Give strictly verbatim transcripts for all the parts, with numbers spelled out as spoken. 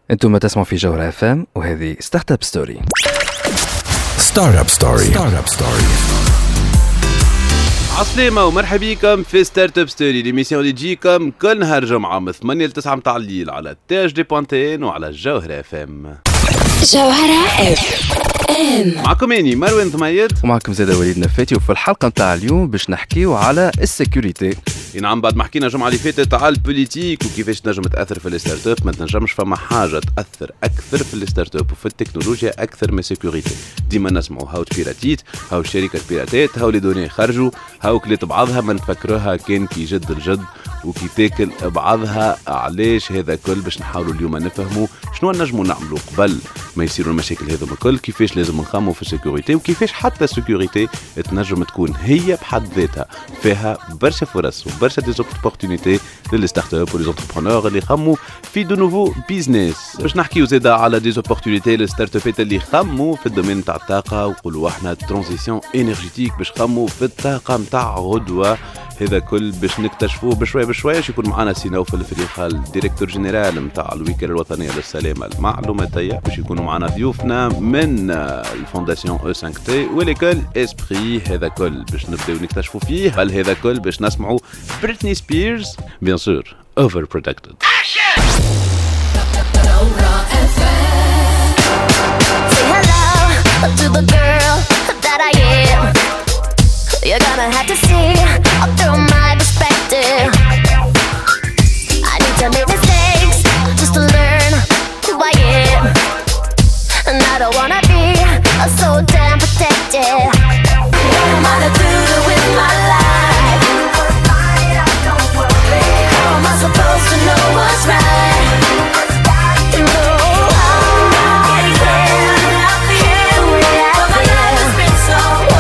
انتم ما تسمعوا في جوهرة اف ام وهذه ستارت اب ستوري. ستارت اب ستوري. ستارت اب ستوري. عسلامة ومرحبا بكم في ستارت اب ستوري، ليميسيون اللي تجيكم كل نهار جمعة من ثمانية ل تسعة متاع الليل على تاج دي بوانتين وعلى جوهرة اف ام. جوهرة اف ام معكم اني مروان ثميد ومعكم زيادة وليد نفاتي، وفي الحلقة متاع اليوم باش نحكيو على السيكوريتي. نعم، بعد ما حكينا الجمعة اللي فاتت على البوليتيك وكيفاش تنجم تأثر في الستارت اب، ما تنجمش فما حاجة تأثر أكثر في الستارت اب وفي التكنولوجيا أكثر من السيكوريتي. ديما نسمعوا هاو تبيراتيت، هاو الشركة تبيراتات، هاو لي دوني خرجوا، هاو كليت بعضها ما نفكروها كان كي جد الجد وكي تاكل بعضها. علاش هذا كل؟ باش نحاولوا اليوم نفهموا شنو نجموا نعملوا قبل ما يصيروا المشاكل هذوما الكل، كيفاش لازم نخموا في السيكوريتي، وكيفاش حتى السيكوريتي تنجم تكون هي بحد ذاتها فيها برشا فرص وبرشا دي زوبورتونيتي للستارت اب وليزونتربرونور اللي يخموا في دو نوفو بيزنس. باش نحكيو زاده على دي زوبورتونيتي للستارت ابات اللي يخموا في الدومين تاع الطاقه، وقولوا احنا ترانزيسيون انرجيتيك باش يخموا في الطاقه نتاع غدوه. هذا كل باش نكتشفوه بشويه بشويه. يكون معنا سيناو في الفريق الديريكتور جنرال نتاع الوكاله الوطنيه للسلامه المعلوماتيه، باش يكونوا معنا ضيوفنا من الفونداسيون او خمسة تي وليكول اسبري. هذا كل باش نبداو نكتشفوا فيه. بل هذا كل باش نسمعوا بريتني سبيرز بيان سور اوفر بروتكتد. You're gonna have to see through my perspective. I need to make mistakes just to learn who I am. And I don't wanna be so damn protected. What am I to do with my life? How am I supposed to know what's right? You know I can't here we are. My life has been so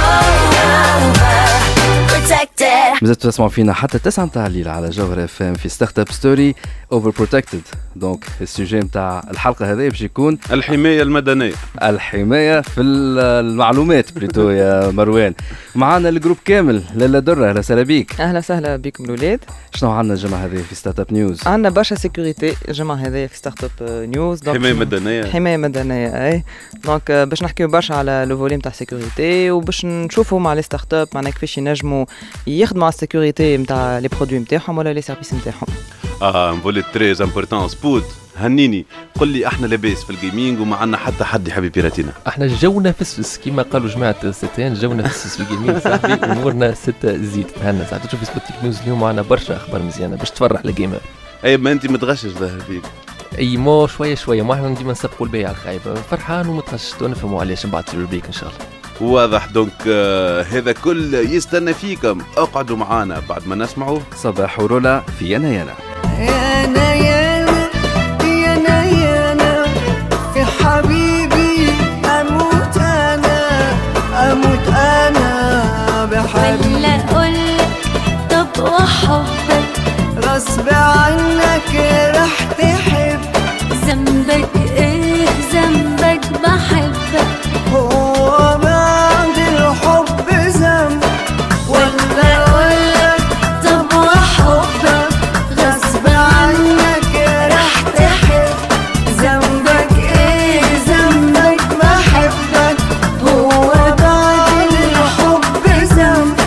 مازلتوا تسمعوا فينا حتى تسعة متاع الليل على جوهرة اف ام في ستارت اب ستوري اوفر بروتكتد. دونك السوجي متاع الحلقه هذه باش يكون الحمايه المدنيه، الحمايه في المعلومات بريتو يا مروان. معنا الجروب كامل. لاله دره، اهلا وسهلا بيك. اهلا وسهلا بكم الاولاد. شنو عندنا الجمعه هذه في ستارت اب نيوز؟ عندنا برشا سيكوريتي الجمعه هذه في ستارت اب نيوز. حمايه مدنيه حمايه مدنيه اي. دونك باش نحكيو برشا على لو فوليم تاع سيكوريتي، وباش نشوفوا مع لي ستارت اب معناها كيفاش ينجموا يخدموا على السيكوريتي نتاع لي برودوي نتاعهم ولا لي سيرفيس نتاعهم. اه نقول تريز امبورطون سبوت. هنيني قل لي احنا لاباس في الجيمنج وما عندنا حتى حد يحب بيراتينا. احنا جونا فسفس كما قالوا جماعه ستين، جونا فسفس في الجيمنج صاحبي. امورنا ستة زيد تهنا ساعات تشوف سبوتيك نيوز اليوم معنا برشا اخبار مزيانه باش تفرح الجيمر. اي ما انت متغشش ظاهر فيك. اي مو شويه شويه، ما احنا ديما نسبقوا البيع الخايب، فرحان ومتغشش ونفهموا علاش من بعد تصير البيك ان شاء الله. واضح. دونك آه هذا كل يستنى فيكم. اقعدوا معانا بعد ما نسمعوا صباح ورولا في يانا يانا. يانا يانا يانا يانا في حبيبي اموت انا اموت انا بحبيبي. ولا اقولك طب وحبك غصب عنك رح تحب. ذنبك ايه ذنبك بحبك. هو بعد الحب ذنب ولا اقولك طب وحبك غصب عنك رح تحب. ذنبك ايه ذنبك بحبك. هو بعد الحب ذنب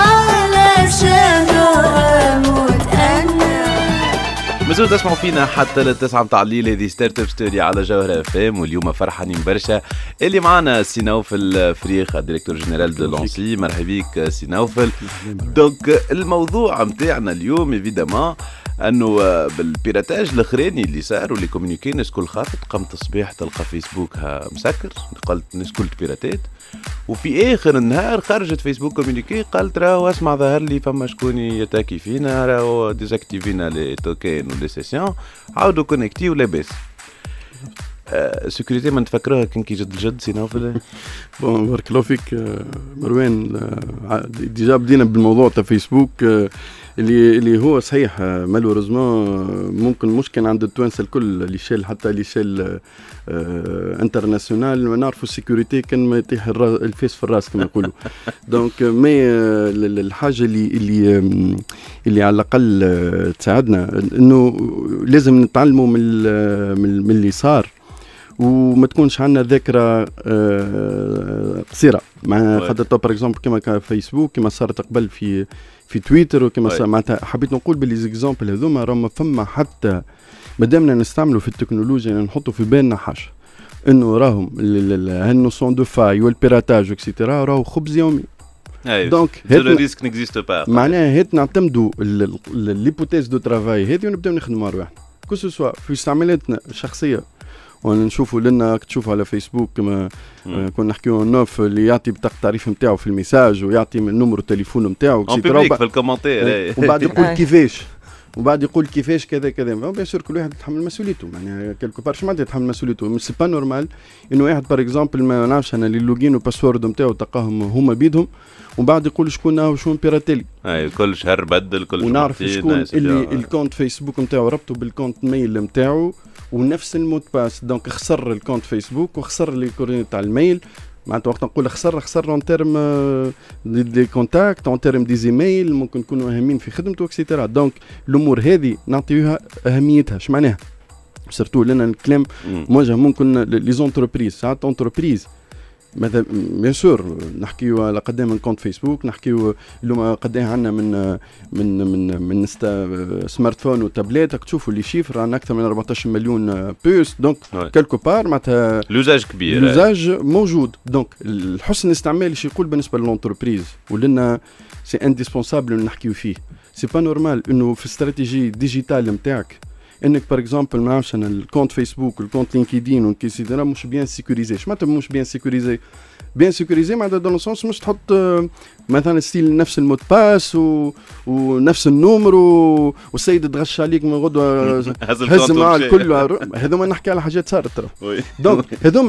علشانه اموت انا. مازلتوا تسمعوا فينا حتى للتسعة متاع الليل. هذه ستارت اب ستوري على جوهرة اف ام، واليوم فرحانين برشا اللي معنا سي نوفل الفريق الديريكتور جنرال دو لونسي. مرحبا بك سي نوفل. دونك الموضوع متاعنا اليوم ايفيدامون انه بالبيراتاج الاخراني اللي صار واللي كومونيكي الناس كل خافت. قمت الصباح تلقى فيسبوك مسكر، قلت الناس كل بيراتات، وفي اخر النهار خرجت فيسبوك كومونيكي قالت راهو اسمع ظهر لي فما شكون يتاكي فينا، راهو ديزاكتيفينا لي توكين ولي سيسيون، عاودوا كونيكتي ولاباس. آه سيكوريتي ما نتفكروها كان كي جد الجد سي نوفل. بون بارك الله فيك مروان. ديجا بدينا بالموضوع تاع فيسبوك. اللي اللي هو صحيح مالوريزمون ممكن مش كان عند التوانسه الكل اللي شال حتى اللي شال آه انترناسيونال ما نعرفوا السيكوريتي كان ما يطيح الفيس في الراس كما يقولوا. دونك مي الحاجه اللي اللي اللي على الاقل تساعدنا انه لازم نتعلموا من من اللي صار وما تكونش عندنا ذاكره قصيره مع خاطر تو باغ اكزومبل كما كان فيسبوك كما صارت قبل في في تويتر وكما معناتها حبيت نقول باللي زيكزامبل هذوما راهم فما حتى مادامنا نستعملوا في التكنولوجيا نحطوا في بالنا حاجه انه راهم هالنوسيون دو فاي والبيراتاج اكسيتيرا راهو خبز يومي. دونك هذا ريسك نيكزيست با معناها هات نعتمدوا ليبوتيز دو ترافاي هذه ونبداو نخدموا روحنا كو سوا في استعمالاتنا الشخصيه ونشوفوا لنا تشوفوا على فيسبوك كما آه كنا نحكيو نوف اللي يعطي بطاقه التعريف نتاعو في الميساج ويعطي من نمر التليفون نتاعو في الكومنتير وبعد يقول كيفاش وبعد يقول كيفاش كذا كذا بيان سور كل واحد يتحمل مسؤوليته يعني كلكو بار شو معناتها يتحمل مسؤوليته مش سي با نورمال انه واحد بار اكزومبل ما نعرفش انا اللي اللوجين والباسورد نتاعو تلقاهم هما بيدهم ومن بعد يقول شكون هو شكون بيراتيلي اي كل شهر بدل كل ونعرف شكون اللي الكونت فيسبوك نتاعو ربطه بالكونت ميل نتاعو ونفس المود باس دونك خسر الكونت فيسبوك وخسر لي كورين تاع الميل معناتها وقت نقول خسر خسر اون تيرم دي كونتاكت اون تيرم دي زيميل ممكن يكونوا اهمين في خدمته اكسيتيرا. دونك الامور هذه نعطيوها اهميتها. اش معناها سيرتو لنا الكلام موجه ممكن لي زونتربريز ساعات اونتربريز مثلا بيان سور نحكيو على قدام من كونت فيسبوك نحكيو اليوم قدام عندنا من من من من سمارت فون وتابلات تشوفوا لي شيفر عندنا اكثر من أربعطاش مليون بوست دونك كالكو بار معناتها لوزاج كبير لوزاج موجود. دونك الحسن الاستعمال ايش يقول بالنسبه للونتربريز ولنا سي انديسبونسابل نحكيو فيه سي با نورمال انه في استراتيجي ديجيتال نتاعك انك بار اكزومبل ما نعرفش انا الكونت فيسبوك والكونت لينكدين والكيسيدنا مش بيان سيكوريزي. اش معناتها مش بيان سيكوريزي؟ بيان سيكوريزي معناتها دون سونس مش تحط مثلا ستيل نفس المود باس و... ونفس النمر و... والسيد تغش عليك من غدوه هز مع الكل. هذوما نحكي على حاجات صارت ترى دونك هذوما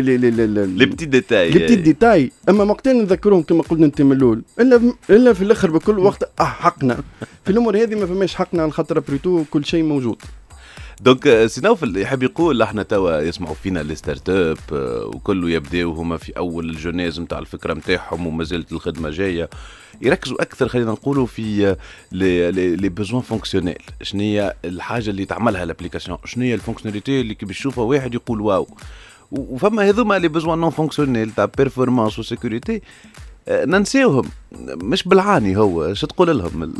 لي بتي ديتاي لي بتي ديتاي اما وقتين نذكرهم كما قلنا انت من الاول الا الا في الاخر بكل وقت اه حقنا في الامور هذه ما فماش حقنا على خاطر بريتو كل شيء موجود. دونك سينوف يحب يقول احنا توا يسمعوا فينا لي ستارت اب وكله يبداو هما في اول الجناز نتاع الفكره نتاعهم وما زالت الخدمه جايه يركزوا اكثر خلينا نقولوا في لي لي بيزوان فونكسيونيل. شنو هي الحاجه اللي تعملها الابليكاسيون شنو هي الفونكسيوناليتي اللي كي بيشوفها واحد يقول واو وفما هذوما لي بيزوان نون فونكسيونيل تاع بيرفورمانس وسيكوريتي ننسيوهم مش بالعاني. هو شو تقول لهم؟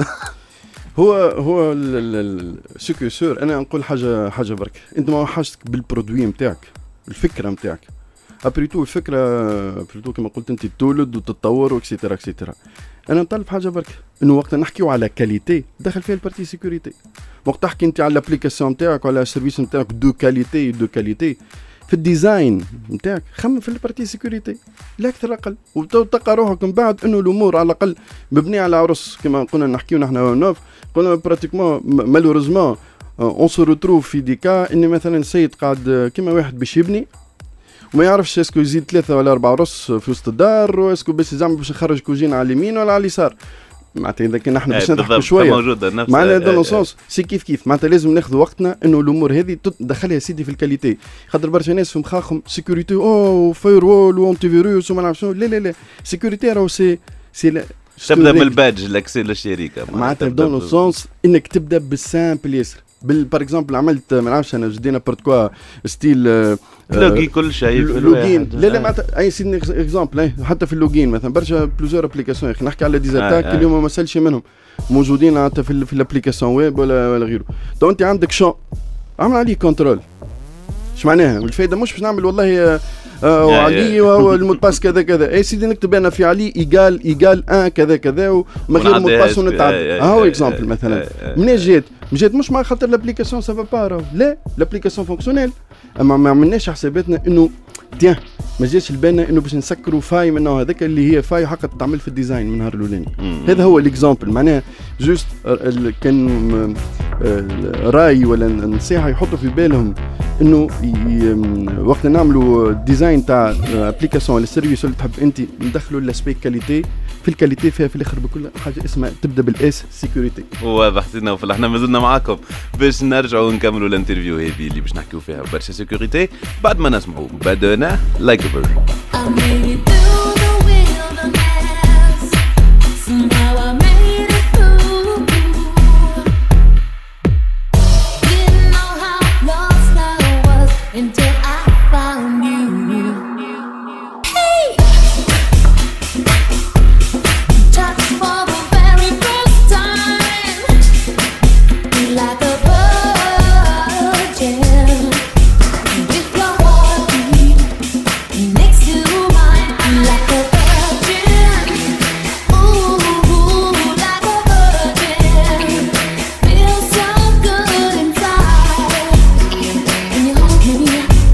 هو هو السكيسور انا نقول حاجه حاجه برك انت ما حاجتك بالبرودوي نتاعك الفكره نتاعك ابريتو الفكره ابريتو كما قلت انت تولد وتتطور واكسيتيرا اكسيتيرا. انا نطلب حاجه برك انه وقت نحكيو على كاليتي دخل فيها البارتي سيكوريتي. وقت تحكي انت على الابليكاسيون نتاعك وعلى السيرفيس نتاعك دو كاليتي دو كاليتي في الديزاين نتاعك خمم في البارتي سيكوريتي لا اكثر اقل وتلقى روحك من بعد انه الامور على الاقل مبنيه على عرس كما قلنا نحكيو نحن نوف قلنا براتيكمون مالوريزمون اون سو روتروف في ديكا اني مثلا سيد قاعد كما واحد باش يبني وما يعرفش اسكو يزيد ثلاثه ولا اربعه رص في وسط الدار واسكو باش يزعم باش يخرج كوجين على اليمين ولا على اليسار. معناتها اذا كان احنا باش نضحكوا شويه معناتها دون سونس سي كيف كيف معناتها لازم ناخذ وقتنا انه الامور هذه تدخلها سيدي في الكاليتي. خاطر برشا ناس في مخاخهم سيكوريتي او فاير وول وانتي فيروس وما نعرف شنو لا لا لا سيكوريتي راهو سي سي تبدا من البادج لاكسي للشركه معناتها دون سونس انك تبدا بالسامبل ياسر بال بار اكزومبل عملت ما نعرفش انا جدينا بارت كوا ستيل لوجين كل شيء في اللوجين لا لا معناتها اي سيدي اكزومبل حتى في اللوجين مثلا برشا بلوزيور ابليكاسيون يا اخي نحكي على ديزاتاك آه اليوم ما سالش منهم موجودين حتى في, في الابليكاسيون ويب ولا ولا غيره. تو انت عندك شو عمل عليه كنترول. ايش معناها الفايده مش باش نعمل والله آه وعلي والمود باس كذا كذا اي سيدي نكتب انا في علي ايجال ايجال ان كذا كذا ومن غير مود باس ونتعدى اهو اكزومبل مثلا منين جات جات مش مع خاطر الابليكاسيون سافا با لا الابليكاسيون فونكسيونيل اما ما عملناش حساباتنا انه تيان ما جاش البانا انه باش نسكروا فاي من النوع هذاك اللي هي فاي حق تعمل في الديزاين من نهار الاولاني. هذا هو الاكزامبل معناها جوست كان راي ولا نصيحه يحطوا في بالهم انه وقت نعملوا ديزاين تاع ابليكاسيون ولا سيرفيس اللي تحب انت ندخلوا الاسبيك كاليتي في الكاليتي فيها في الاخر بكل حاجه اسمها تبدا بالاس سيكوريتي. واضح سي نوفل. احنا مازلنا معاكم باش نرجعوا نكملوا الانترفيو هذه اللي باش نحكيو فيها برشا سيكوريتي بعد ما نسمعوا بدنا لايك بيرد. Until I found you. Hey, touch for the very first time, like a virgin. With your heartbeat next to mine, like a virgin. Ooh, like a virgin. Feels so good inside. And you hold me.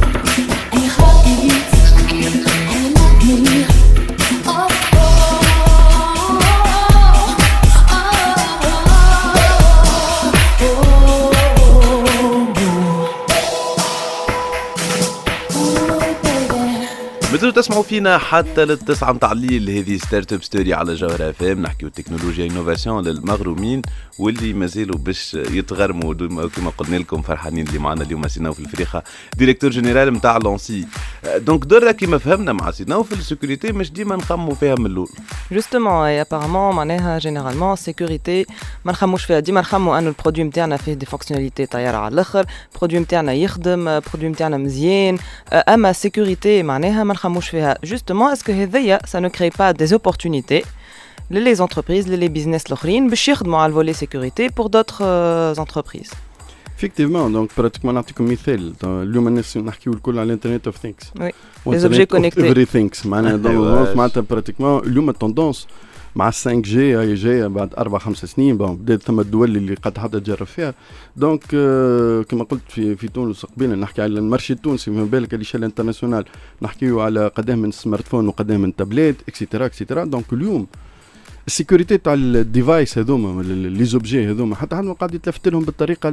مازلتوا تسمعوا فينا حتى للتسعة متاع الليل. هذه ستارت اب ستوري على جوهر اف ام، نحكيو تكنولوجيا انوفاسيون للمغرومين واللي مازالوا باش يتغرموا. كما قلنا لكم فرحانين اللي معنا اليوم سيناو في الفريخه ديريكتور جينيرال نتاع لونسي. دونك درا كيما فهمنا مع سيناو في السيكوريتي مش ديما نخموا فيها من الاول. جوستومون اي ابارامون معناها جينيرالمون سيكوريتي ما نخموش فيها، ديما نخموا انه البرودوي نتاعنا فيه دي فونكسيوناليتي طياره على الاخر، البرودوي نتاعنا يخدم، البرودوي نتاعنا مزيان. اما سيكوريتي معناها ما نخموش فيها. جوستومون اسكو هذيا سا نو كري با دي اوبورتونيتي للي زونتربريز للي بيزنس الاخرين باش يخدموا على الفولي سيكوريتي بور دوطخ زونتربريز. effectivement donc pratiquement نعطيكم مثال اليوم الناس نحكيو الكل على الانترنت اوف ثينكس وي لي اوبجي كونيكتي every things معناها دونك معناتها براتيكمون اليوم التوندونس مع خمسة جي هاي جايه بعد أربع خمس سنين. بون بدات ثم الدول اللي قد حتى تجرب فيها. دونك كما قلت في في تونس قبيله نحكي على المارشي التونسي، ما بالك اللي شال انترناسيونال نحكيو على قداه من سمارت فون وقداه من تابلت اكسيتيرا اكسيتيرا. دونك اليوم السيكوريتي تاع الديفايس هذوما لي زوبجي هذوما حتى حد ما قاعد يتلفت لهم بالطريقه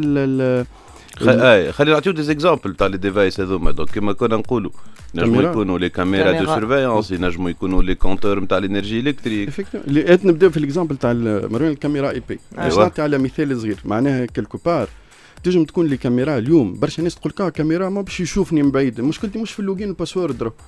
اي خلينا نعطيو دي زيكزامبل تاع لي ديفايس هذوما. دونك كما كنا نقولوا نجموا يكونوا لي كاميرا دو سيرفيونس، ينجموا يكونوا لي كونتور نتاع الانرجي الكتريك. اللي نبداو في الاكزامبل تاع مروان الكاميرا اي بي. باش نعطي على مثال صغير معناها كلكو بار تنجم تكون لي كاميرا اليوم برشا ناس تقول كا كاميرا ما باش يشوفني من بعيد. مشكلتي مش في اللوجين والباسورد درو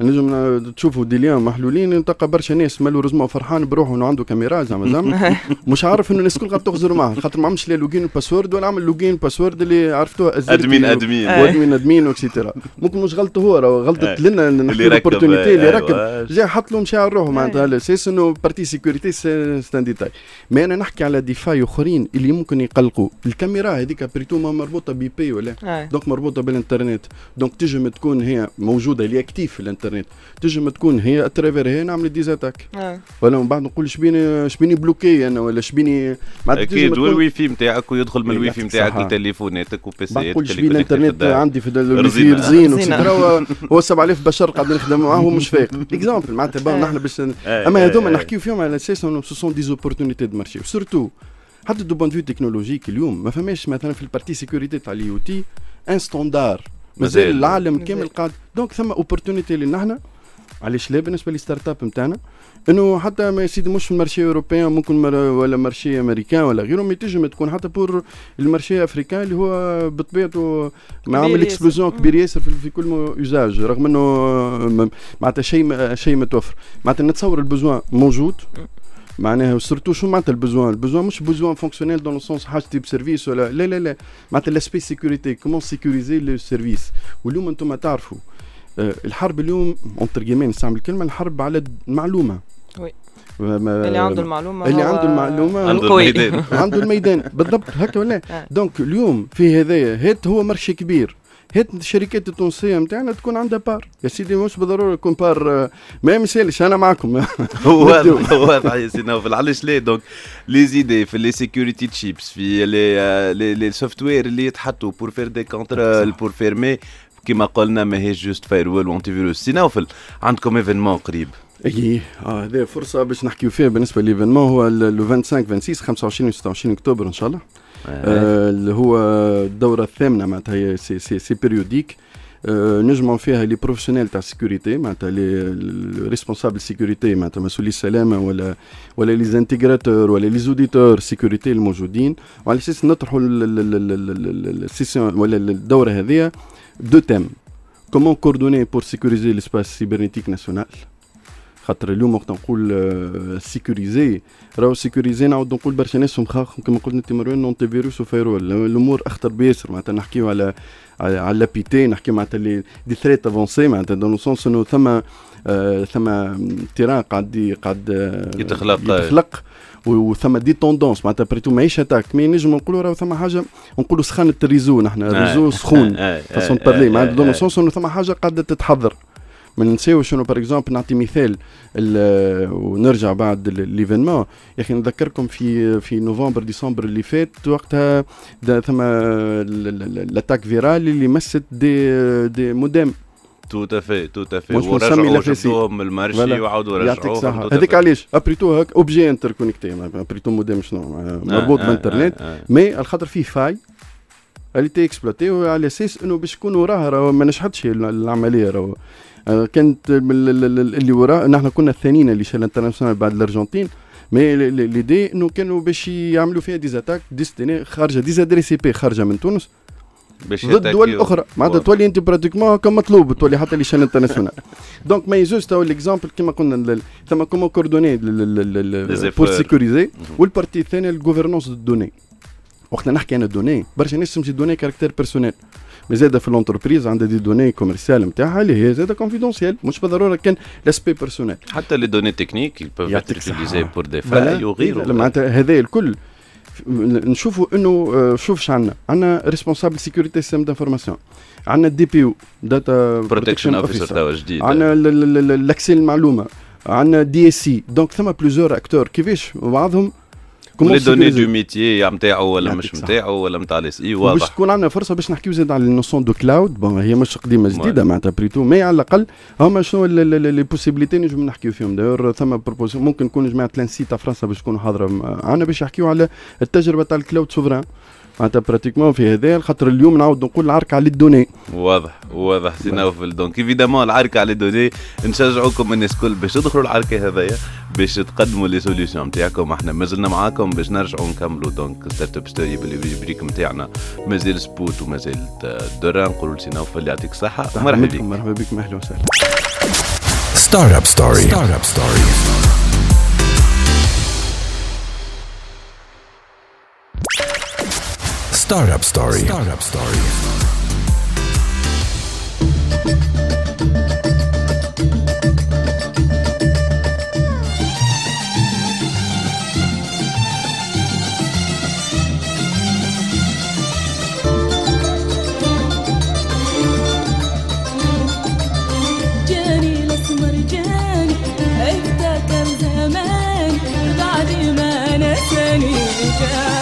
نجم تشوفوا ديليان محلولين تلقى برشا ناس مالوريزمون فرحان بروحه انه عنده كاميرا زعما زعما مش عارف انه الناس الكل قاعد تغزر معاه خاطر ما عملش لا لوجين والباسورد ولا عمل لوجين والباسورد اللي عرفتوها ادمين ادمين وادمين ادمين واكسيتيرا. ممكن مش غلطه هو راه غلطت لنا نحكي الاوبورتونيتي اللي ركب جا حط له مشاعر روحه معناتها على اساس انه بارتي سيكوريتي ستان ديتاي. مي انا نحكي على ديفاي اخرين اللي ممكن يقلقوا. الكاميرا هذيك بريتو ما مربوطه بي بي ولا دونك مربوطه بالانترنت. دونك تجم تكون هي موجوده اللي اكتيف في الانترنت، تجم تكون هي اترافير هي نعمل ديزاتاك آه. ولا من بعد نقول شبيني شبيني بلوكي انا ولا شبيني اكيد والواي فاي نتاعك ويدخل من الواي فاي نتاعك لتليفوناتك وبيسيات. نقول شبيني الانترنت عندي في الواي فاي رزين وكذا هو سبعة آلاف بشر قاعد نخدم معاه هو مش فايق اكزامبل معناتها بون نحن باش اما هذوما نحكيو فيهم على اساس انه سو سون دي زوبورتونيتي دو مارشي سورتو حتى دو بون فيو تكنولوجيك. اليوم ما فماش مثلا في البارتي سيكوريتي تاع اليو تي ان ستاندار مازال العالم كامل قاعد. دونك ثم اوبورتونيتي اللي نحن علاش لا بالنسبه لي ستارت اب نتاعنا انه حتى ما يسيدي مش في المارشي اوروبيان ممكن مر ولا مارشي امريكان ولا غيره ما تنجم تكون حتى بور المارشي افريكان اللي هو بطبيعته ما عامل اكسبلوزيون كبير ياسر في, في كل يوزاج رغم انه معناتها شيء شيء متوفر. معناتها نتصور البزوان موجود معناها سورتو شو معناتها البزوان البزوان مش بزوان فونكسيونيل دون لو سونس حاجتي بسيرفيس ولا لا لا لا معناتها لاسبي سيكوريتي كومون سيكوريزي لو سيرفيس. واليوم انتم تعرفوا الحرب اليوم اونتر جيمين نستعمل الكلمه الحرب على المعلومه. وي اللي عنده المعلومه اللي عنده المعلومه عنده الميدان عنده الميدان بالضبط هكا ولا. دونك اليوم في هذايا هات هو مرشي كبير هات الشركات التونسيه نتاعنا تكون عندها بار يا سيدي مش بالضروره يكون بار ما يمثلش انا معكم واضح واضح يا سيدي نوفل. علاش ليه دونك لي زيدي في لي سيكوريتي تشيبس في لي لي سوفت وير اللي يتحطوا بور فير دي كونترول بور فيرمي كما قلنا ماهيش جوست فايروول وانتي فيروس. سي نوفل عندكم ايفينمون قريب اي اه هذه فرصه باش نحكيو فيها بالنسبه للايفينمون هو لو خمسة وعشرين ستة وعشرين خمسة وعشرين وستة وعشرين اكتوبر ان شاء الله اللي آه هو الدوره الثامنه معناتها هي سي سي سي بيريوديك نجمعوا فيها لي بروفيسيونيل تاع السيكوريتي معناتها لي ريسبونسابل سيكوريتي معناتها مسؤولي السلامه ولا ولا لي زانتيغراتور ولا لي زوديتور سيكوريتي الموجودين، وعلى اساس نطرحوا السيسيون ولا الدوره هذه دو تيم. كومون كوردوني بور سيكوريزي ليسباس سيبرنيتيك ناسيونال، خاطر اليوم وقت نقول سيكوريزي راهو سيكوريزي نعاود نقول برشا ناس مخاخ كما قلت انت مروان نونتي فيروس وفايرول، الامور اخطر بياسر معناتها نحكيو على على لابيتي، نحكي معناتها لي دي ثريت افونسي معناتها دون لو سونس انه ثم آه ثم تيران قاعد قاعد يتخلق يتخلق وثم دي توندونس معناتها بريتو ماهيش اتاك، مي نجم نقولوا راهو ثم حاجه نقولوا سخانه الريزو، نحن الريزو سخون فاسون بارلي معناتها دون لو سونس انه ثم حاجه قاعده تتحضر. ما ننساو شنو باغ اكزومبل نعطي مثال ونرجع بعد ليفينمون، يا اخي نذكركم في في نوفمبر ديسمبر اللي فات وقتها ثم لاتاك فيرال اللي مست دي دي مودام تو تافي تو تافي ورجعوا شفتوهم المارشي وعاودوا رجعوه هذيك علاش ابريتو هاك اوبجي انتر كونيكتي ابريتو مودام شنو مربوط بالانترنت، مي الخاطر فيه فاي اللي تي اكسبلوتي على اساس انه باش يكون وراها راهو ما نجحتش العمليه، راهو كانت اللي وراء نحن كنا الثانيين اللي شال انترناسيونال بعد الارجنتين، مي ليدي انه كانوا باش يعملوا فيها ديزاتاك ديستيني خارجه ديزادري سي بي خارجه من تونس ضد دول اخرى معناتها تولي انت براتيكمون كم مطلوب تولي حتى اللي شال انترناسيونال. دونك ما يجوز تو ليكزامبل كما قلنا ثم كومون كوردوني بور سيكوريزي، والبارتي الثانيه الجوفرنونس دو دوني. وقت نحكي انا دوني برشا ناس تمشي دوني كاركتير بيرسونيل، مي زاده في الانتربريز عندها دي دوني كوميرسيال نتاعها اللي هي زاده كونفيدونسيال، مش بالضروره كان لاسبي بيرسونيل، حتى لي دوني تكنيك يبوف يوتيليزي بور دي فاي وغيره. معناتها هذا الكل نشوفوا انه شوف عندنا عندنا ريسبونسابل سيكوريتي سيستم دانفورماسيون، عندنا الدي بي او داتا بروتكشن اوفيسر توا جديد، عندنا الاكسي المعلومه، عندنا دي اس سي، دونك ثم بلوزور اكتور كيفاش بعضهم لي دوني دو ميتيي نتاعو ولا مش نتاعو ولا نتاع الاس اي واضح. باش تكون عندنا فرصه باش نحكيو زاد على النوسيون دو كلاود، بون هي مش قديمه جديده معناتها بريتو، مي على الاقل هما شنو لي بوسيبيليتي نجم نحكيو فيهم. داير ثم بروبوز ممكن نكون جماعه لانسي تاع فرنسا باش تكونوا حاضره عندنا باش يحكيو على التجربه تاع الكلاود سوفران معناتها براتيكمون في هذا، خاطر اليوم نعاود نقول العركه على الدوني. واضح واضح سي نوفل. دونك ايفيدامون العركه على الدوني، نشجعوكم الناس الكل باش تدخلوا العركه هذيا باش تقدموا لي سوليوشن نتاعكم. احنا مازلنا معاكم باش نرجعوا نكملوا دونك ستارت اب ستوري بالبريك نتاعنا، مازال سبوت ومازال دوران. نقولوا لسي نوفل يعطيك الصحه ومرحبا بك. مرحبا بك اهلا وسهلا. ستارت اب ستوري ستارت اب ستوري Startup Story. Startup Story. جاني الاسمر جاني افتكر زمان بعد ما نساني جاني.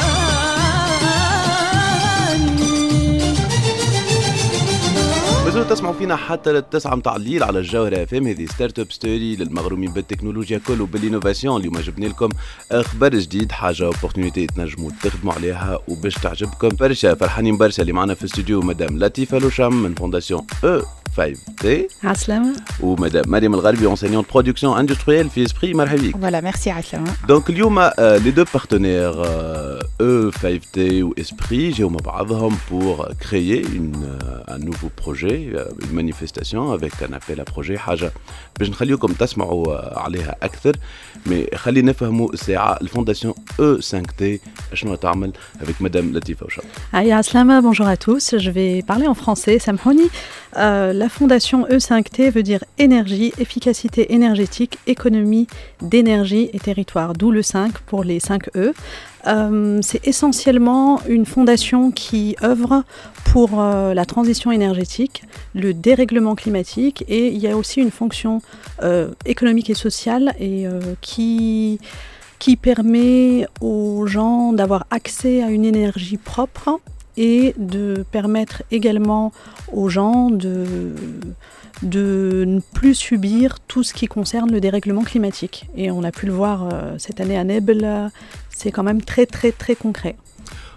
تسمعوا فينا حتى للتسعة متاع الليل على الجوهرة اف ام. هذه ستارت اب ستوري للمغرومين بالتكنولوجيا كل وبالانوفاسيون. اليوم جبنا لكم اخبار جديد، حاجه اوبورتونيتي تنجموا تخدموا عليها وباش تعجبكم برشا. فرحانين برشا اللي معنا في الاستوديو مدام لطيفه لوشام من فونداسيون او خمسة تي. عسلامة. ومدام مريم الغربي enseignante production industrielle في اسبري. مرحبا بك. Voilà, merci عسلامة. دونك اليوم لي دو بارتنير او خمسة تي و اسبري جاوا مع بعضهم pour créer une un nouveau projet, une manifestation avec un appel à projet. حاجه باش نخليكم تسمعوا عليها اكثر، مي خلينا نفهموا الساعه الفونداسيون او خمسة تي شنو تعمل avec مدام لطيفه وشام. Aïe عسلامة, bonjour à tous. Je vais parler en français. Samhouni. Euh, la fondation E cinq T veut dire énergie, efficacité énergétique, économie d'énergie et territoire, d'où le cinq pour les cinq E. Euh, c'est essentiellement une fondation qui œuvre pour euh, la transition énergétique, le dérèglement climatique, et il y a aussi une fonction euh, économique et sociale et, euh, qui, qui permet aux gens d'avoir accès à une énergie propre et de permettre également aux gens de, de ne plus subir tout ce qui concerne le dérèglement climatique. Et on a pu le voir euh, cette année à Nebel, c'est quand même très très très concret.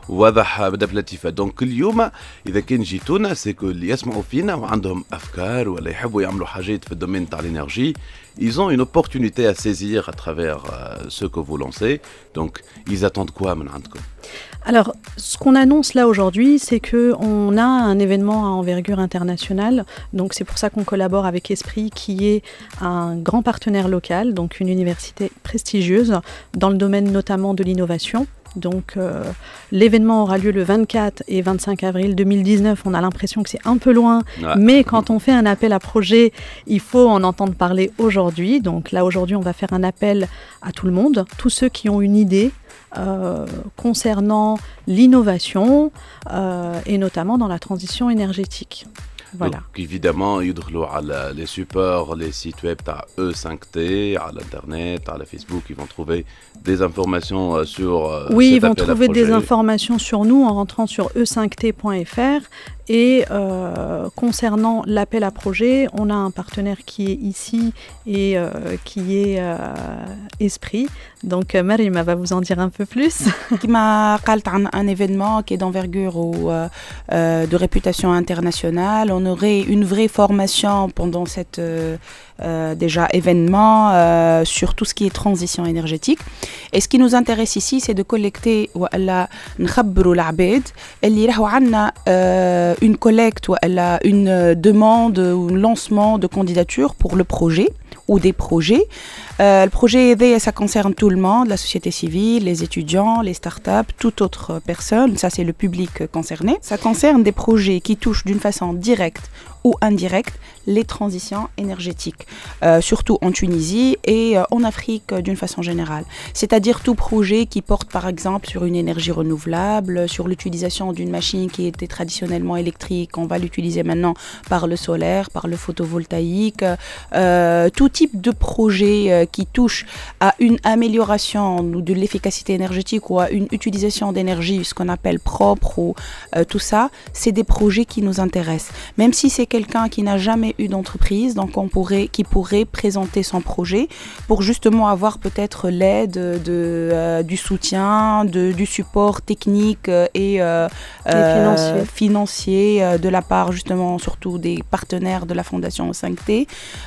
واضح بدأ لطيفة. دونك اليوم إذا كان جيتونا سيكو اللي يسمعوا فينا وعندهم أفكار ولا يحبوا يعملوا حاجات في الدومين تاع l'énergie, ils ont une opportunité à saisir à travers euh, ce que vous lancez. Donc, ils attendent quoi من عندكم? Alors, ce qu'on annonce là aujourd'hui, c'est qu'on a un événement à envergure internationale. Donc, c'est pour ça qu'on collabore avec Esprit, qui est un grand partenaire local, donc une université prestigieuse, dans le domaine notamment de l'innovation. Donc, euh, l'événement aura lieu le vingt-quatre et vingt-cinq avril deux mille dix-neuf. On a l'impression que c'est un peu loin, ouais. Mais quand on fait un appel à projet, il faut en entendre parler aujourd'hui. Donc là, aujourd'hui, on va faire un appel à tout le monde, tous ceux qui ont une idée euh, concernant l'innovation euh, et notamment dans la transition énergétique. Voilà. Donc évidemment, يدخلوا على les supports, les sites web à E cinq T, à l'internet, à la Facebook, ils vont trouver des informations sur Oui, ils vont trouver des informations sur nous en rentrant sur e cinq t point f r. Et euh, concernant l'appel à projet, on a un partenaire qui est ici et euh, qui est euh, Esprit. Donc Marima va vous en dire un peu plus. Qui m'a parlé d'un événement qui est d'envergure ou euh, euh, de réputation internationale. On aurait une vraie formation pendant cette euh, euh, déjà événement euh, sur tout ce qui est transition énergétique. Et ce qui nous intéresse ici, c'est de collecter ولا نخبروا العباد اللي راهو عندنا une collecte ou une demande ou un lancement de candidature pour le projet ou des projets. Euh, le projet, ça concerne tout le monde, la société civile, les étudiants, les startups, toute autre personne. Ça, c'est le public concerné. Ça concerne des projets qui touchent d'une façon directe ou indirecte les transitions énergétiques, euh, surtout en Tunisie et euh, en Afrique euh, d'une façon générale. C'est-à-dire tout projet qui porte par exemple sur une énergie renouvelable, sur l'utilisation d'une machine qui était traditionnellement électrique, on va l'utiliser maintenant par le solaire, par le photovoltaïque, euh, tout type de projet euh, qui touche à une amélioration de l'efficacité énergétique ou à une utilisation d'énergie, ce qu'on appelle propre ou euh, tout ça, c'est des projets qui nous intéressent. Même si c'est quelqu'un qui n'a jamais eu d'entreprise, donc on pourrait, qui pourrait présenter son projet pour justement avoir peut-être l'aide de, euh, du soutien, de, du support technique et, euh, et financier, euh, financier euh, de la part justement surtout des partenaires de la Fondation E cinq T.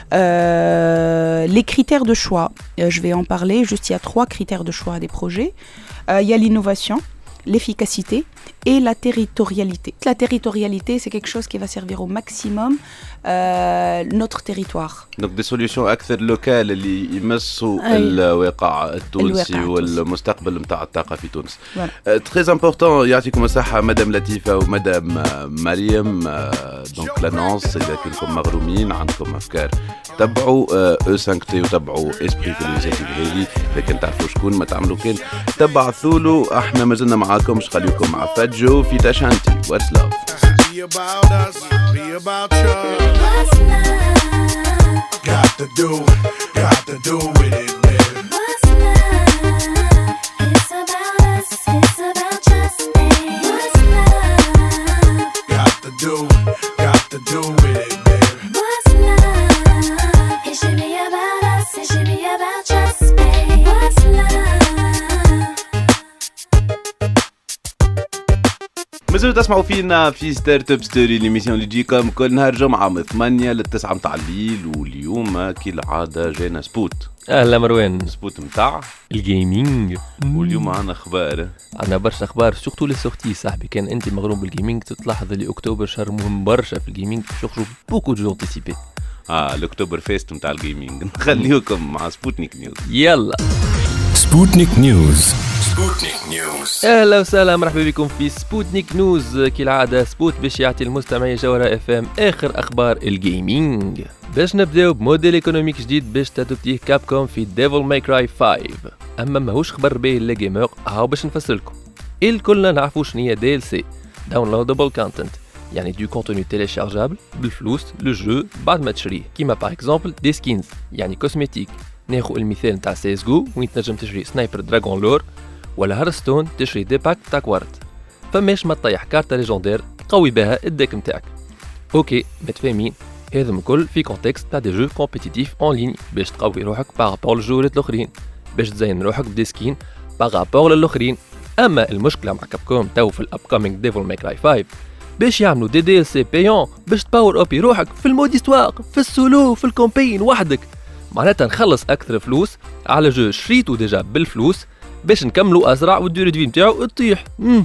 Euh, les critères de choix, euh, je vais en parler, juste il y a trois critères de choix des projets. Euh, il y a l'innovation, l'efficacité et la territorialité. La territorialité, c'est quelque chose qui va servir au maximum euh, notre territoire. Donc des solutions أكثر locales اللي يمسوا الواقع التونسي والمستقبل نتاع الطاقة في تونس. Très important, يعطيكم الصحة مدام لطيفة ومدام مريم. Donc l'annonce إذا كنتم مغرومين عندكم أفكار تبعوا E cinq T وتبعوا Esprit في الانيشيتيف هذه. إذا كنت تعرفوا شكون ما تعملوا كان تبعثوا له. احنا ما زلنا معاكم مش خليكم مع فجو في تاشانتي. What's love? Be about us, be about you. What's love? Got to do, got to do with it, man. What's love? It's about us, it's about just me. What's love? Got to do, got to do with it, man. What's love? It should be about us, it should be about just me. What's love? مازالوا تسمعوا فينا في ستارت اب ستوري، ليميسيون اللي تجيكم كل نهار جمعه من ثمانية للتسعة متاع الليل. واليوم كالعاده جانا سبوت. اهلا مروان. سبوت متاع الجيمنج. واليوم عندنا اخبار، عندنا برشا اخبار سورتو لي سورتي. صاحبي كان انت مغروم بالجيمنج تلاحظ اللي اكتوبر شهر مهم برشا في الجيمنج، باش يخرجوا بوكو دو انتيسيبي. اه الاكتوبر فيست متاع الجيمنج. نخليكم مع سبوتنيك نيوز. يلا سبوتنيك نيوز. سبوتنيك نيوز. اهلا وسهلا، مرحبا بكم في سبوتنيك نيوز. كالعاده سبوت باش يعطي المستمعين جوهرة اف ام اخر اخبار الجيمنج. باش نبداو بموديل ايكونوميك جديد باش تادوبتيه كابكوم في ديفل ماي كراي خمسة. اما ماهوش خبر باهي للجيمر، هاو باش نفسر لكم. الكلنا نعرفوا شنيا دي ال سي، داونلودبل كونتنت، يعني دو كونتوني تيليشارجابل بالفلوس لو جو بعد ما تشريه، كيما باغ اكزومبل دي سكينز يعني كوسميتيك. ناخذ المثال نتاع سي اس جو وين تنجم تشري سنايبر دراغون لور، ولا هارستون تشري دي باك تاع كوارت. فماش ما تطيح كارتا ليجوندير تقوي بها الديك نتاعك. اوكي متفاهمين، هذا الكل في كونتكست تاع دي جو كومبيتيتيف اون لين باش تقوي روحك بارابور للجوارات الاخرين، باش تزين روحك بدي سكين بارابور للاخرين. اما المشكله مع كابكوم تو في الابكامينج ديفل ماي كراي خمسة باش يعملوا دي دي ال سي بايون باش تباور ابي روحك في المود استواق في السولو في الكومبين وحدك، معناتها نخلص اكثر فلوس على جو شريتو ديجا بالفلوس باش نكملوا اسرع والديوري دي نتاعو تطيح. امم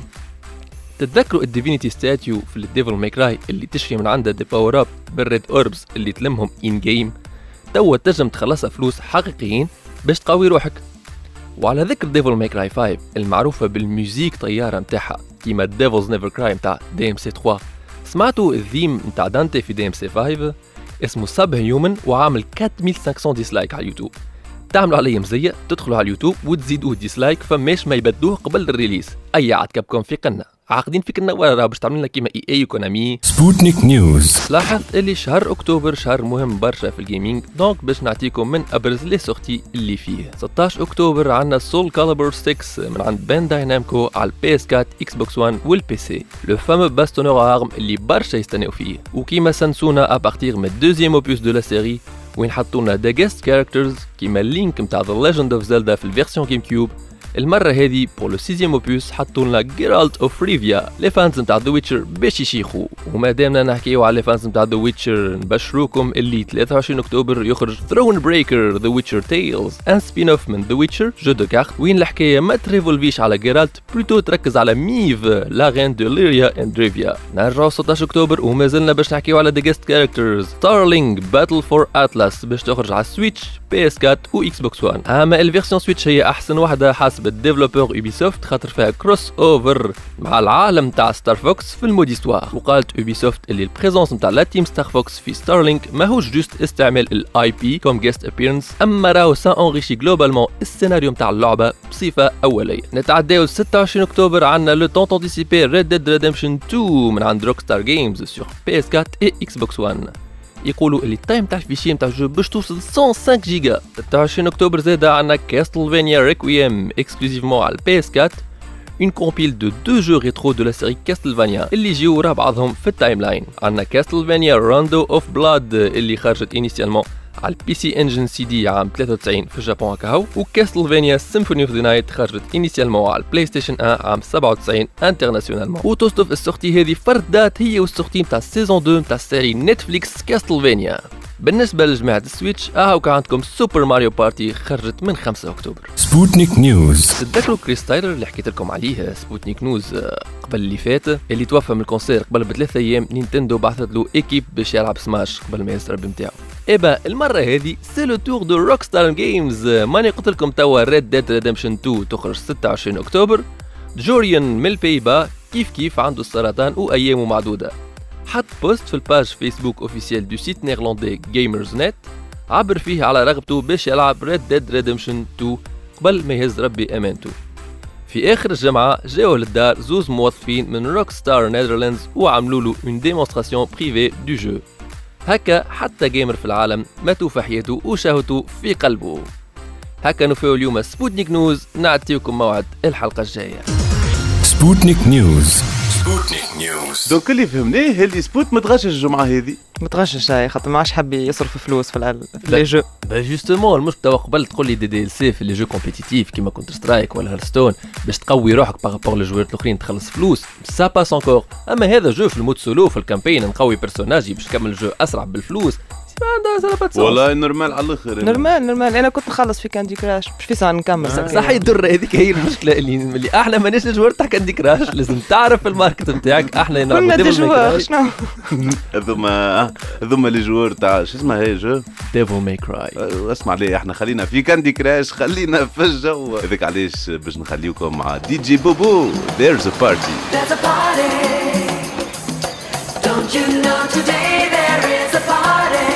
تتذكروا الديفينيتي ستاتيو في الديفل ماي كراي اللي تشري من عندها دي باور اب بالريد اوربس اللي تلمهم ان جيم، توا تنجم تخلصها فلوس حقيقيين باش تقوي روحك. وعلى ذكر ديفل ماي كراي خمسة المعروفه بالميوزيك طياره نتاعها كيما ديفلز نيفر كراي نتاع دي ام سي ثلاثة، سمعتوا الثيم نتاع دانتي في دي ام سي خمسة اسمه سب هيومن وعامل أربعة آلاف وخمسمية ديسلايك على اليوتيوب. تعملوا عليه مزيه تدخلوا على اليوتيوب وتزيدوه ديسلايك فماش ما يبدوه قبل الريليس. اي عاد كابكم في قنا عاقدين فيك النوار باش تعمل لنا كيما اي اي وكونامي. سبوتنيك نيوز. لاحظت اللي شهر اكتوبر شهر مهم برشا في الجيمنج، دونك باش نعطيكم من ابرز لي سورتي اللي فيه. ستة عشر اكتوبر عندنا سول كاليبر ستة من عند بانداي نامكو على البي اس أربعة اكس بوكس واحد والبي سي، لو فامو باستونور ارم اللي برشا يستناو فيه، وكيما سنسونا ابارتيغ من الدوزيام اوبوس دو لا سيري وين حطونا دا جيست كاركترز كيما لينك نتاع ذا ليجند اوف زيلدا في الفيرسيون جيم كيوب. المرة هذه بور لو سيزيام اوبوس حطولنا جيرالت اوف ريفيا لي فانز نتاع ذا ويتشر باش يشيخوا. وما دامنا نحكيو على لي فانز نتاع ذا ويتشر نبشروكم اللي ثلاثة وعشرين اكتوبر يخرج ثرون بريكر ذا ويتشر تيلز ان سبين اوف من ذا ويتشر جو دو كارت، وين الحكايه ما تريفولفيش على جيرالت بلوتو تركز على ميف لا رين دو ليريا اند ريفيا. نرجعوا ستة عشر اكتوبر وما زلنا باش نحكيو على ذا جيست كاركترز ستارلينج باتل فور اتلاس باش تخرج على سويتش بي اس أربعة و اكس بوكس واحد. اما الفيرسيون سويتش هي احسن واحده حسب الديفلوبر يوبيسوفت خاطر فيها كروس اوفر مع العالم تاع ستار فوكس في المود استوار. وقالت يوبيسوفت اللي البريزونس نتاع لا تيم ستار فوكس في ستارلينك ماهوش جوست استعمال الاي بي كوم جيست ابيرنس، اما راهو سان اونريشي جلوبالمون السيناريو نتاع اللعبه بصفه اوليه. نتعداو ستة وعشرين اكتوبر عندنا لو طون انتيسيبي ريد ديد ريدمشن اثنين من عند روك ستار جيمز سور بي اس أربعة و اكس بوكس واحد. يقولوا اللي التايم تاع الفيشي نتاع الجو باش توصل مية وخمسة جيجا. ستة وعشرين اكتوبر زاد عندنا كاستلفانيا ريكويم اكسكلوزيفمون على البي اس أربعة، اون كومبيل دو دو جو ريترو دو لا سيري كاستلفانيا اللي يجيو ورا بعضهم في التايم لاين. عندنا كاستلفانيا راندو اوف بلاد اللي خرجت انيسيالمون على البي سي انجن سي دي عام ثلاثة وتسعين في اليابان هكاهو، وكاستلفانيا سيمفوني اوف ذا نايت خرجت انيسيالمون على البلاي ستيشن واحد عام سبعة وتسعين انترناسيونالمون. وتصدف السورتي هذه فردات هي والسورتي نتاع السيزون اثنين نتاع السيري نتفليكس كاستلفانيا. بالنسبه لجماعه السويتش اهو كان عندكم سوبر ماريو بارتي خرجت من خمسة اكتوبر. سبوتنيك نيوز. تتذكروا كريس تايلر اللي حكيت لكم عليه سبوتنيك نيوز قبل اللي فات، اللي توفى من الكونسير قبل بثلاث ايام. نينتندو بعثت له ايكيب باش يلعب سماش قبل ما يسرب نتاعو. إبا المره هذه سي لو تور دو روك ستار جيمز. ماني قلت لكم توا ريد ديد ريدمشن اثنين تخرج ستة وعشرين اكتوبر. جوريان من البيبا كيف كيف عنده السرطان وايامه معدوده، حط بوست في الباج فيسبوك اوفيسيال دو سيت نيرلاندي جيمرز نت عبر فيه على رغبته باش يلعب ريد ديد ريدمشن اثنين قبل ما يهز ربي امانته. في اخر الجمعه جاوا للدار زوز موظفين من روك ستار نيذرلاندز وعملوا له اون ديمونستراسيون بريفي دو جو. هكا حتى جيمر في العالم ماتوا في حياته وشهوته في قلبه. هكا نفاو اليوم سبوتنيك نيوز، نعطيكم موعد الحلقه الجايه. سبوتنيك نيوز. سبوتنيك نيوز. دونك اللي فهمناه اللي سبوت متغشش الجمعه هذه. متغشش هاي خاطر ما عادش حاب يصرف فلوس في العل... في لي جو. با جوستومون المشكله قبل تقول لي دي دي ال سي في لي جو كومبيتيتيف كيما كونتر سترايك ولا هيرستون باش تقوي روحك بارابور للجوارات الاخرين تخلص فلوس سا باس انكور. اما هذا جو في المود سولو في الكامبين نقوي بيرسوناجي باش نكمل الجو اسرع بالفلوس والله نورمال على الاخر. نورمال نورمال انا كنت نخلص في كاندي كراش مش في ساعه نكمل آه. صح يضر هذيك هي المشكله اللي اللي احنا ماناش الجوار تاع كاندي كراش لازم تعرف الماركت نتاعك. احنا كنا دي جوار شنو هذوما هذوما لي جوار تاع شو اسمها هي جو ديفل ماي كراي. اسمع لي احنا خلينا في كاندي كراش خلينا في الجو هذاك علاش باش نخليكم مع دي جي بوبو. There's a party. There's a party. Don't you know today there is a party.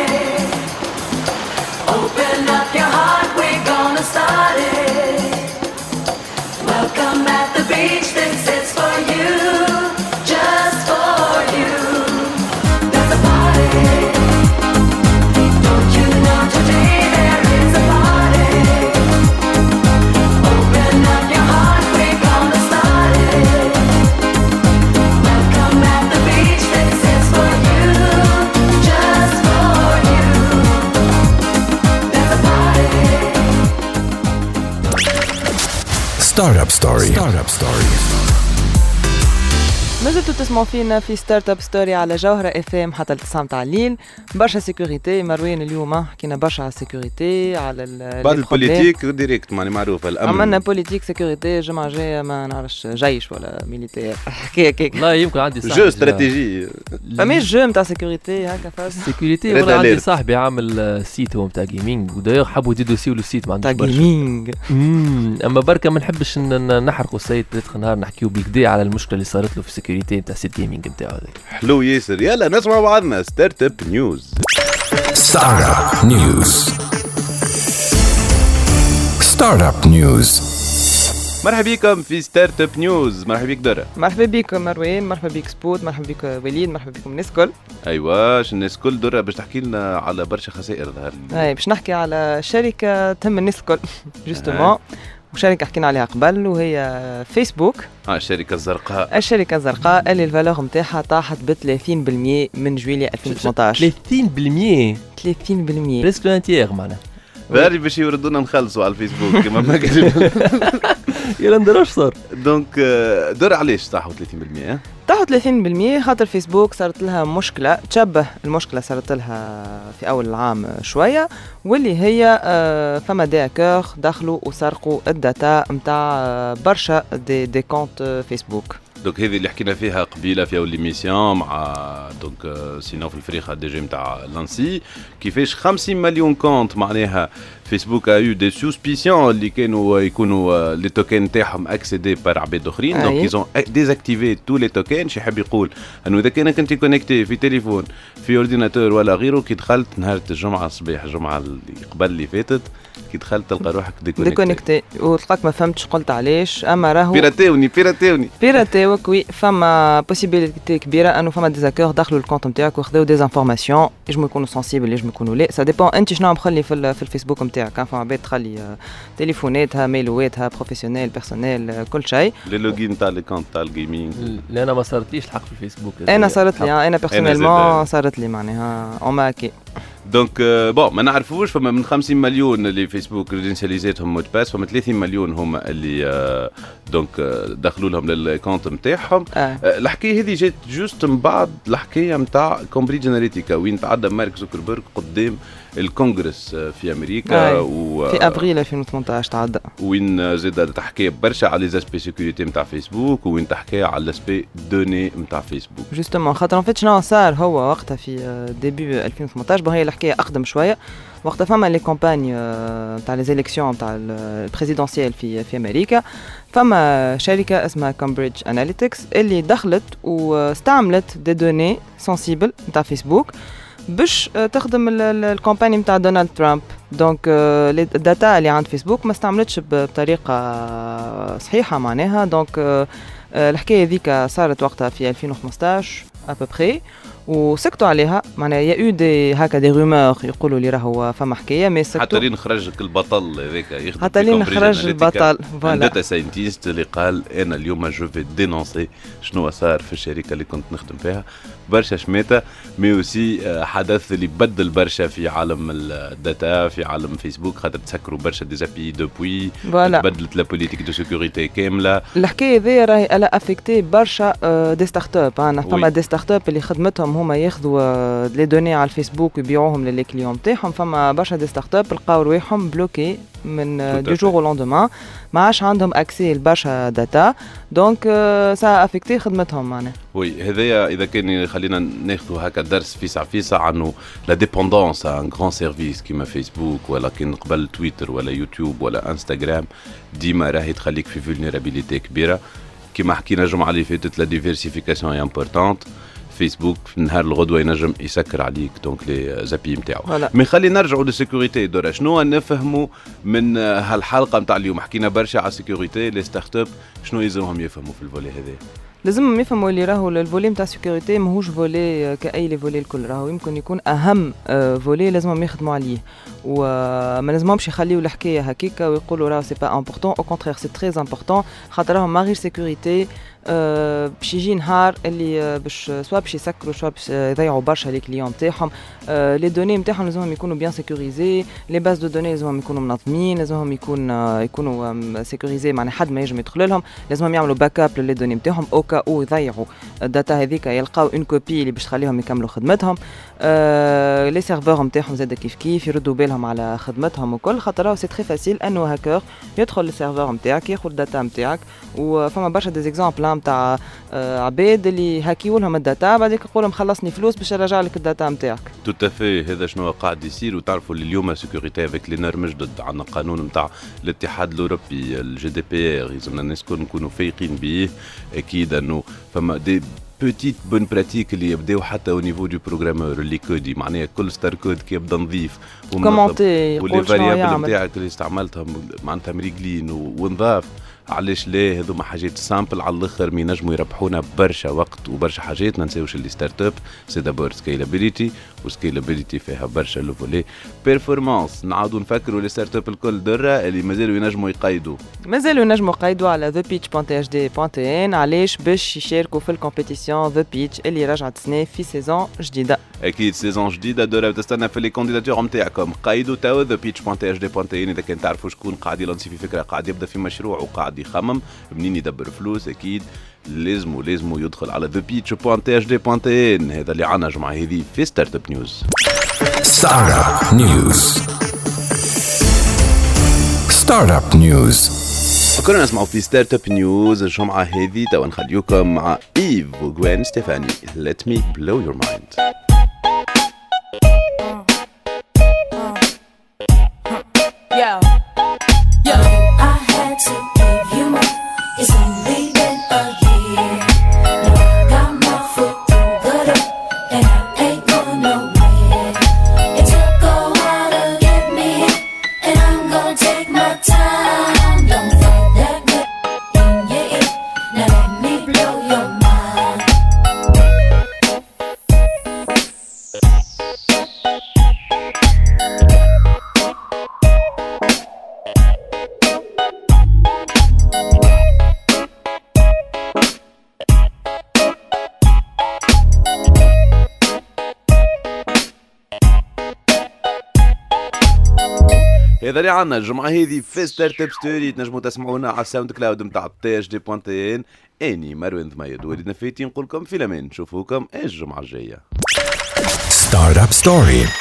Open up your heart, we're gonna start it. Welcome at the beach, this is for you, just for you. There's a party. Don't you know today there is a party. Open up your heart, we're gonna start it. Welcome at the beach, this is for you. ستارت اب ستوري. ستارت اب ستوري. مازلتوا تسمعوا فينا في ستارت اب ستوري على جوهرة اف ام حتى التسعة متاع الليل. برشا سيكوريتي مروان اليوم حكينا برشا على السيكوريتي على بعد البوليتيك ديريكت ماني معروفه الامن. عملنا بوليتيك سيكوريتي الجمعة الجاية ما نعرفش جيش ولا ميليتير حكاية كيك. والله يمكن عندي صاحبي جو استراتيجي فماش جو نتاع سيكوريتي هكا فاز سيكوريتي. والله عندي صاحبي عامل سيت هو نتاع جيمنج ودايوغ حبوا يدوسيو له السيت ما عندوش نتاع جيمنج. اما بركه ما نحبش نحرقوا السيت بيتخ نهار نحكيو بالكدا على المشكله اللي صارت له في السيكوريتي نتاع السيت جيمنج نتاعو هذاك. حلو ياسر. يلا نسمع بعضنا ستارت اب نيوز. ستارت اب نيوز. ستارت اب نيوز. مرحبا بكم في ستارت اب نيوز. مرحبا بك درة. مرحبا بك مروان. مرحبا بك سبوت. مرحبا بك وليد. مرحبا بكم الناس الكل. ايوا الناس الكل. درة باش تحكي لنا على برشا خسائر ظهر لي. اي باش نحكي على شركه تهم الناس الكل جوستومون وشركه حكينا عليها قبل وهي فيسبوك. اه الشركه الزرقاء. الشركه الزرقاء اللي الفالور نتاعها طاحت ب ثلاثين بالمئة من جويلية ألفين وثمانية عشر. ثلاثين بالمئة ثلاثين بالمئة بريسك لانتيير معناها. باري باش يوردونا نخلصوا على الفيسبوك كما ما قال. يلا ندير اش صار. دونك دور علاش طاحوا ثلاثين بالمئة؟ طاحوا ثلاثين بالمئة خاطر فيسبوك صارت لها مشكله تشبه المشكله صارت لها في اول العام شويه واللي هي فما داكور دخلوا وسرقوا الداتا نتاع برشا دي دي كونت فيسبوك. دونك هذه اللي حكينا فيها قبيله في اول ليميسيون مع دونك سينو في الفريق دي جي نتاع لانسي كيفاش خمسين مليون كونت معناها فيسبوك ا يو دي سوسبيسيون اللي كانوا يكونوا لي توكن تاعهم اكسيدي بار عباد اخرين. دونك ايزون ديزاكتيفي تو لي توكن. شي يحب يقول انه اذا كانك انت كونيكتي في تليفون في اورديناتور ولا غيره كي دخلت نهار الجمعه الصباح الجمعه اللي قبل اللي فاتت كي دخلت تلقى روحك ديكونيكتي ديكونيكتي وتلقاك ما فهمتش قلت علاش. اما راهو بيراتيوني بيراتيوني بيراتيوك وي فما بوسيبيليتي كبيره انه فما ديزاكور دخلوا الكونت نتاعك وخذوا دي انفورماسيون يجمو يكونوا سنسيبل يجمو يكونوا لا سا ديبون انت شنو مخلي في, في الفيسبوك نتاعك. فما عباد تخلي تليفوناتها ميلواتها بروفيسيونيل بيرسونيل كل شيء. لي لوغين تاع لي كونت تاع الجيمنج. لا انا ما صارتليش الحق في الفيسبوك. انا صارت لي انا بيرسونيلمون صارت لي معناها اون ماكي. دونك بون ما نعرفوش فما من خمسين مليون اللي فيسبوك ريدنسياليزاتهم مود باس فما ثلاثين مليون هما اللي دونك دخلوا لهم للكونت نتاعهم. آه. الحكايه هذه جات جوست من بعد الحكايه نتاع كامبريدج اناليتيكا وين تعدى مارك زوكربيرغ قدام الكونغرس في امريكا. آه. و في ابريل ألفين وثمانية عشر تعدى وين زاد تحكي برشا على لي زاسبي سيكوريتي نتاع فيسبوك وين تحكي على لاسبي دوني نتاع فيسبوك. جوستومون خاطر فيت شنو صار هو وقتها في ديبي ألفين وثمانية عشر هي الحكايه اقدم شويه وقتها فما لي كومباني نتاع لي زيليكسيون نتاع البريزيدونسيال في في امريكا. فما شركه اسمها كامبريدج اناليتكس اللي دخلت واستعملت دي دوني سنسيبل نتاع فيسبوك باش تخدم الكومباني نتاع دونالد ترامب. دونك الداتا اللي عند فيسبوك ما استعملتش بطريقه صحيحه معناها. دونك الحكايه ذيك صارت وقتها في ألفين وخمسة عشر ابوبري وسكتوا عليها معناها يا يو دي هكا دي رومور يقولوا لي راهو فما حكايه مي سكتوا حتى لين خرجك البطل هذاك يخدم حتى لين خرج البطل فوالا داتا ساينتيست اللي قال انا اليوم جو في دينونسي شنو صار في الشركه اللي كنت نخدم فيها برشا شماته مي اوسي حدث اللي بدل برشا في عالم الداتا في عالم فيسبوك خاطر تسكروا برشا ديزابي دوبوي تبدلت لا بوليتيك دو سيكوريتي كامله. الحكايه ذي راهي الا افيكتي برشا دي ستارت اب. انا فما دي ستارت اب اللي خدمتهم هما ياخذوا لي دوني على الفيسبوك ويبيعوهم للي كليون تاعهم. فما برشا دي ستارت اب لقاو رواحهم بلوكي من دو جور او لوندومان ما عادش عندهم اكسي لبرشا داتا. دونك سا افيكتي خدمتهم معناها. وي هذايا اذا كان خلينا ناخذوا هكا درس فيسع فيسع عنه لا ديبوندونس ان غران سيرفيس كيما فيسبوك ولا كان قبل تويتر ولا يوتيوب ولا انستغرام ديما راهي تخليك في فولنيرابيليتي كبيره. كيما حكينا الجمعه اللي فاتت لا ديفيرسيفيكاسيون اي امبورطونت. فيسبوك في نهار الغدوه ينجم يسكر عليك دونك لي زابي نتاعو. مي خلي نرجعوا للسيكوريتي دورا شنو نفهموا من هالحلقه نتاع اليوم. حكينا برشا على السيكوريتي لي ستارت اب شنو يلزمهم يفهموا في الفولي هذا. لازمهم يفهموا اللي راهو الفولي نتاع السيكوريتي ماهوش فولي كاي لي فولي الكل راهو يمكن يكون اهم فولي لازمهم يخدموا عليه وما لازمهمش يخليوا الحكايه هكيكا ويقولوا راه سي با امبورطون، او كونترير سي تري امبورطون، خاطر راهم ما غير سيكوريتي أه باش يجي نهار اللي باش سوا باش يسكروا سوا باش يضيعوا برشا لي كليون نتاعهم. أه لي دوني نتاعهم لازمهم يكونوا بيان سيكوريزي، لي باز دو دوني لازمهم يكونوا منظمين، لازمهم يكون آه يكونوا سيكوريزي، معناها حد ما ينجم يدخل لهم، لازمهم يعملوا باك اب للي دوني نتاعهم او كا او يضيعوا الداتا هذيك يلقاو اون كوبي اللي باش تخليهم يكملوا خدمتهم. أه لي سيرفور نتاعهم زاد كيف كيف يردوا بالهم على خدمتهم وكل، خاطر سي تري فاسيل انه هاكر يدخل للسيرفور نتاعك ياخذ الداتا نتاعك. وفما برشا دي زيكزامبل نتاع عباد اللي هاكيو لهم الداتا بعديك يقول لهم خلصني فلوس باش يرجع لك الداتا نتاعك. تو تافي هذا شنو قاعد يصير. وتعرفوا اللي اليوم سيكوريتي افيك لي نورم جدد، عندنا قانون نتاع الاتحاد الاوروبي الجي دي بي ار، لازمنا الناس الكل نكونوا فايقين به. اكيد انه فما دي بوتيت بون براتيك اللي يبداو حتى او نيفو دو بروغرامور اللي كودي، معناها كل ستار كود كي يبدا نظيف وكومونتي واللي فاريابل نتاعك اللي استعملتهم معناتها مريقلين ونضاف. علاش لا؟ هذوما حاجات سامبل على الاخر مي نجموا يربحونا برشا وقت وبرشا حاجات. ما نساوش اللي ستارت اب سي دابور سكيلابيليتي، وسكيلابيليتي فيها برشا لو فولي بيرفورمانس. نعاودوا نفكروا لي ستارت اب الكل دره اللي مازالوا ينجموا يقيدوا مازالوا ينجموا يقيدوا على ذا بيتش دوت اتش دي دوت ان. علاش؟ باش يشاركوا في الكومبيتيسيون ذا بيتش اللي رجعت سنه في سيزون جديده. اكيد سيزون جديده دره تستنى في لي كونديداتور نتاعكم. قيدوا تو ذا بيتش دوت اتش دي دوت ان اذا كان تعرفوا شكون قاعد يلانسي في فكره، قاعد يبدا في مشروع وقاعد يخمم منين يدبر فلوس. اكيد لازم لازم يدخل على ذا بيتش دوت اتش دي دوت ان. هذا اللي عنا جمعه هذه في ستارت اب نيوز. ستارت اب نيوز. ستارت اب نيوز. كنا نسمعوا في ستارت اب نيوز الجمعه هذه. تو نخليكم مع ايف وغوين ستيفاني Let me blow your mind. Yeah. I had to give you more. It's only been a year. Now I got my foot through the door, and I ain't going nowhere. It took a while to get me here, and I'm gonna take my time. Don't fight that good in your ear. Now let me blow your mind. هذا اللي عنا الجمعة هذه في ستارت اب ستوري. تنجموا تسمعونا على الساوند كلاود نتاع تي اش دي دوت ان. اني مروان ضميد وليد نفيتي نقول لكم في الامان، نشوفوكم الجمعة الجاية. ستارت اب ستوري.